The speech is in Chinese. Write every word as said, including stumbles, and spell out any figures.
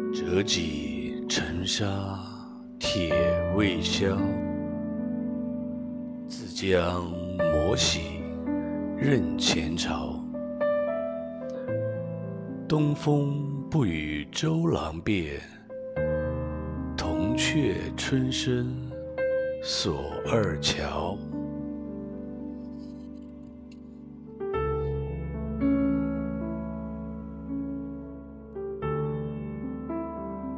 折戟沉沙铁未销，自将磨洗认前朝。东风不与周郎便，铜雀春深锁二乔。